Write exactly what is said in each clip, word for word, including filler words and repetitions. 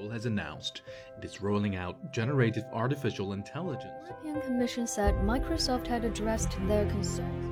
Seoul has announced it is rolling out generative artificial intelligence. The European Commission said Microsoft had addressed their concerns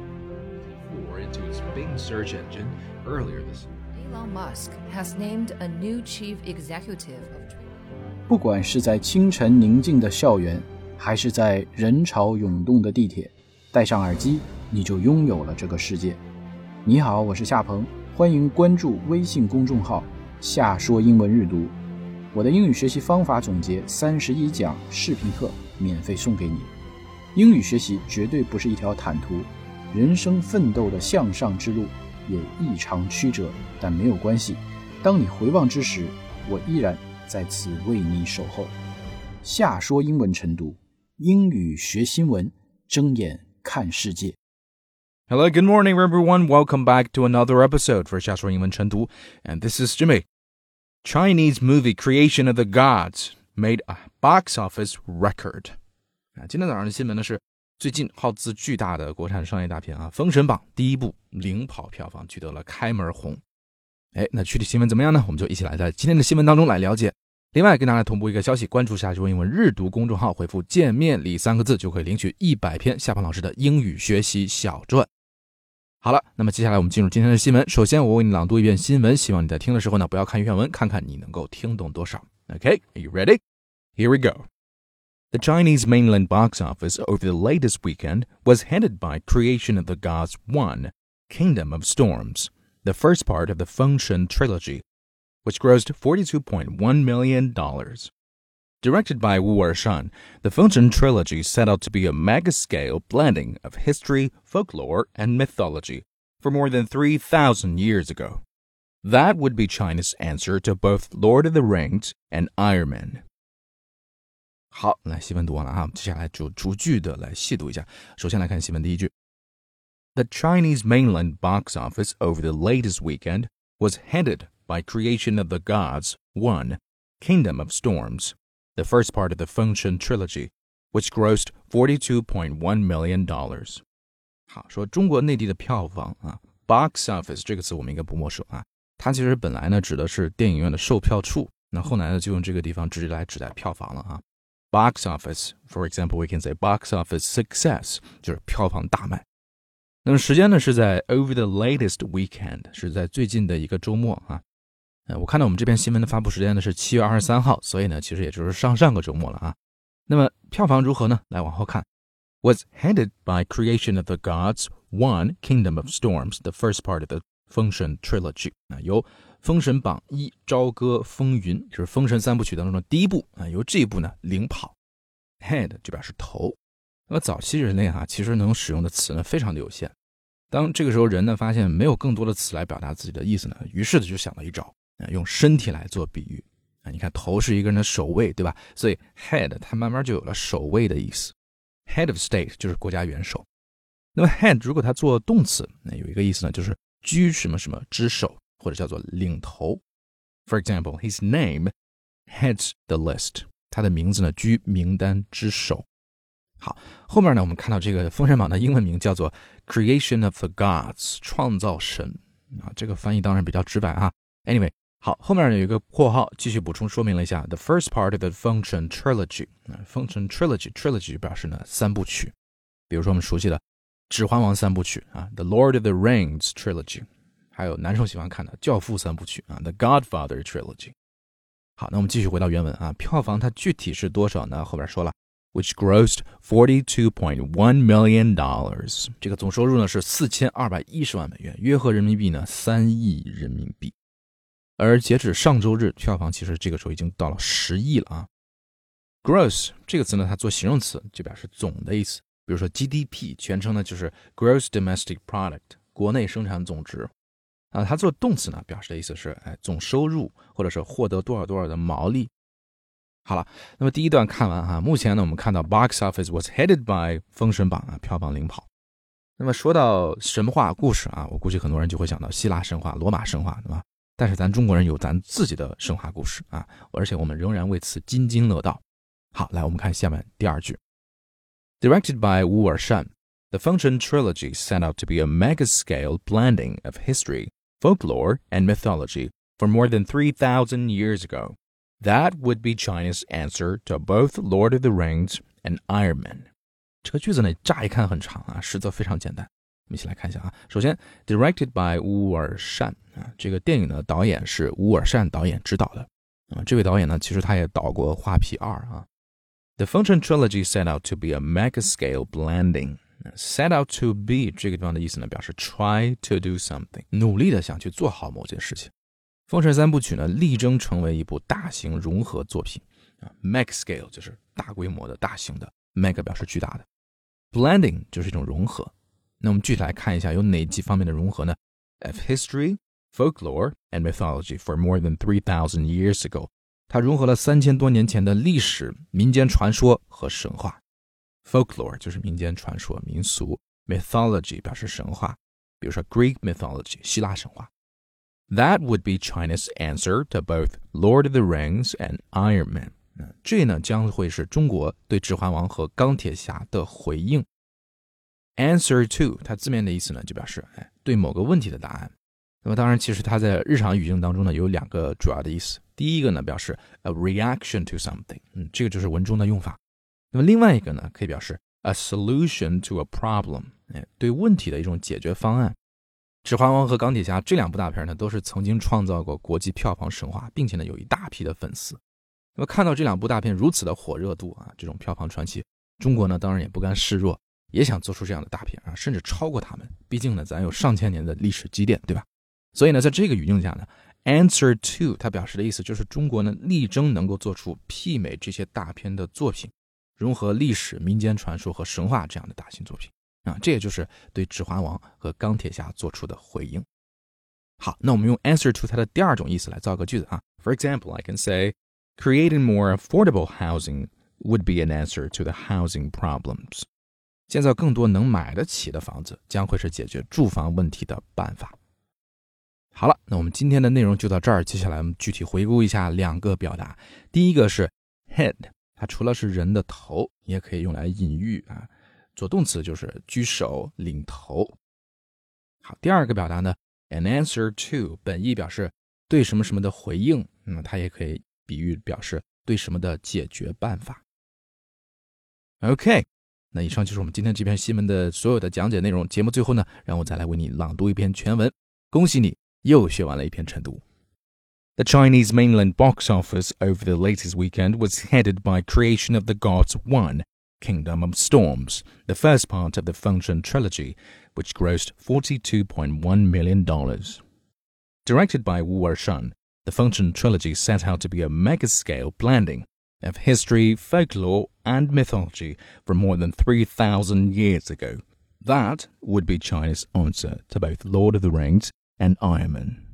into its Bing search engine earlier this year. Elon Musk has named a new chief executive of Twitter. 不管是在清晨宁静的校园，还是在人潮涌动的地铁，戴上耳机，你就拥有了这个世界。你好，我是夏鹏，欢迎关注微信公众号夏说英文日读。我的英语学习方法总结三十一讲视频课免费送给你。英语学习绝对不是一条坦途，人生奋斗的向上之路也异常曲折，但没有关系。当你回望之时，我依然在此为你守候。夏说英文晨读，英语学新闻，睁眼看世界。 Hello, good morning, everyone. Welcome back to another episode for 夏说英文晨读, and this is Jimmy. Chinese movie Creation of the Gods made a box office record. 啊，今天早上的新闻呢是最近耗资巨大的国产商业大片啊，《封神榜》第一部领跑票房，取得了开门红。哎，那具体新闻怎么样呢？我们就一起来在今天的新闻当中来了解。另外跟大家同步一个消息，关注夏说英文日读公众号，回复见面礼三个字就可以领取一百篇夏鹏老师的英语学习小传。好了，那么接下来我们进入今天的新闻。首先我为你朗读一遍新闻，希望你在听的时候呢，不要看原文，看看你能够听懂多少。Okay, are you ready? Here we go.The Chinese mainland box office over the latest weekend was headed by Creation of the Gods one, Kingdom of Storms, the first part of the Fengshen trilogy, which grossed forty-two point one million dollars. Directed by Wu Ershan, the Fengshen trilogy set out to be a mega-scale blending of history, folklore, and mythology for more than three thousand years ago. That would be China's answer to both Lord of the Rings and Iron Man.好，来新闻读完了啊，接下来就逐句的来细读一下。首先来看新闻第一句。The Chinese mainland box office over the latest weekend was headed by Creation of the Gods one, Kingdom of Storms, the first part of the Fengshen trilogy, which grossed forty-two point one million dollars. 好，说中国内地的票房啊 ，box office 这个词我们应该不陌生啊，它其实本来呢指的是电影院的售票处，那后来呢就用这个地方直接来指代票房了啊。Box office, for example, we can say box office success, 就是票房大卖。那么时间呢是在 over the latest weekend, 是在最近的一个周末啊。呃，我看到我们这篇新闻的发布时间呢是七月二十三号，所以呢其实也就是上上个周末了啊。那么票房如何呢？来往后看。Was headed by Creation of the Gods one, Kingdom of Storms, the first part of the Fengshen trilogy. 啊，由封神榜一朝歌风云，就是封神三部曲当中的第一部啊，由这一部呢领跑。Head 就表示头。那么早期人类啊，其实能使用的词呢非常的有限。当这个时候人呢发现没有更多的词来表达自己的意思呢，于是就想了一招啊，用身体来做比喻啊。你看头是一个人的首位，对吧？所以 head 它慢慢就有了首位的意思。Head of state 就是国家元首。那么 head 如果它做动词，那有一个意思呢，就是居什么什么之首。或者叫做领头。For example, his name heads the list. 他的名字呢居名单之首。好，后面呢我们看到这个封神榜的英文名叫做 Creation of the Gods, 创造神啊，这个翻译当然比较直白啊。Anyway, 好，后面有一个括号继续补充说明了一下 the first part of the Fengshen trilogy. Fengshen trilogy, trilogy 表示呢三部曲。比如说我们熟悉的指环王三部曲啊 The Lord of the Rings trilogy。还有男生喜欢看的教父三部曲啊 The Godfather Trilogy。 好，那我们继续回到原文啊，票房它具体是多少呢？后边说了 which grossed forty-two point one million dollars， 这个总收入呢是四千二百一十万美元，约合人民币呢三亿人民币。而截止上周日，票房其实这个时候已经到了十亿了啊。Gross 这个词呢，它做形容词就表示总的意思，比如说 G D P 全称呢就是 Gross Domestic Product， 国内生产总值。啊，它做动词呢，表示的意思是，哎，总收入或者是获得多少多少的毛利。好了，那么第一段看完哈，目前呢，我们看到 box office was headed by 封神榜啊，票房领跑。那么说到神话故事啊，我估计很多人就会想到希腊神话、罗马神话，对吧？但是咱中国人有咱自己的神话故事啊，而且我们仍然为此津津乐道。好，来我们看下面第二句。Directed by Wu Ershan, the Fengshen trilogy set out to be a mega-scale blending of history, folklore, and mythology for more than three thousand years ago. That would be China's answer to both Lord of the Rings and Iron Man. 这个句子呢，乍一看很长啊，实则非常简单。我们一起来看一下啊。首先 ，directed by 乌尔善啊，这个电影的导演是乌尔善导演执导的啊。这位导演呢，其实他也导过《画皮二》啊。The Fengchen trilogy set out to be a mega-scale blending.Set out to be 这个地方的意思呢，表示 try to do something， 努力的想去做好某件事情。封神三部曲呢，力争成为一部大型融合作品啊 ，mega scale 就是大规模的、大型的 ，mega 表示巨大的 ，blending 就是一种融合。那我们具体来看一下有哪几方面的融合呢 ？Of history, folklore, and mythology for more than three thousand years ago， 它融合了三千多年前的历史、民间传说和神话。Folklore 就是民间传说、民俗 ，mythology 表示神话，比如说 Greek mythology 希腊神话。That would be China's answer to both Lord of the Rings and Iron Man。这呢将会是中国对《指环王》和《钢铁侠》的回应。Answer to 它字面的意思呢，就表示哎对某个问题的答案。那么当然，其实它在日常语境当中呢有两个主要的意思。第一个呢表示 a reaction to something， 嗯，这个就是文中的用法。那么另外一个呢，可以表示 a solution to a problem， 哎，对问题的一种解决方案。指环王和钢铁侠这两部大片呢，都是曾经创造过国际票房神话，并且呢有一大批的粉丝。那么看到这两部大片如此的火热度啊，这种票房传奇，中国呢当然也不甘示弱，也想做出这样的大片啊，甚至超过他们。毕竟呢，咱有上千年的历史积淀，对吧？所以呢，在这个语境下呢 ，answer to 它表示的意思就是中国呢力争能够做出媲美这些大片的作品。融合历史、民间传说和神话这样的大型作品啊，这也就是对《指环王》和《钢铁侠》做出的回应。好，那我们用 answer to 它的第二种意思来造个句子啊。For example, I can say, creating more affordable housing would be an answer to the housing problems. 建造更多能买得起的房子，将会是解决住房问题的办法。好了，那我们今天的内容就到这儿。接下来我们具体回顾一下两个表达。第一个是 head。它除了是人的头，也可以用来隐喻啊。做动词就是居首、领头。好，第二个表达呢 ，an answer to 本意表示对什么什么的回应，那么它也可以比喻表示对什么的解决办法。OK， 那以上就是我们今天这篇新闻的所有的讲解内容。节目最后呢，让我再来为你朗读一篇全文。恭喜你又学完了一篇晨读。The Chinese mainland box office over the latest weekend was headed by Creation of the Gods one, Kingdom of Storms, the first part of the Fengchen trilogy, which grossed forty-two point one million dollars. Directed by Wu Ershan, the Fengchen trilogy set out to be a mega-scale blending of history, folklore, and mythology from more than three thousand years ago. That would be China's answer to both Lord of the Rings and Iron Man.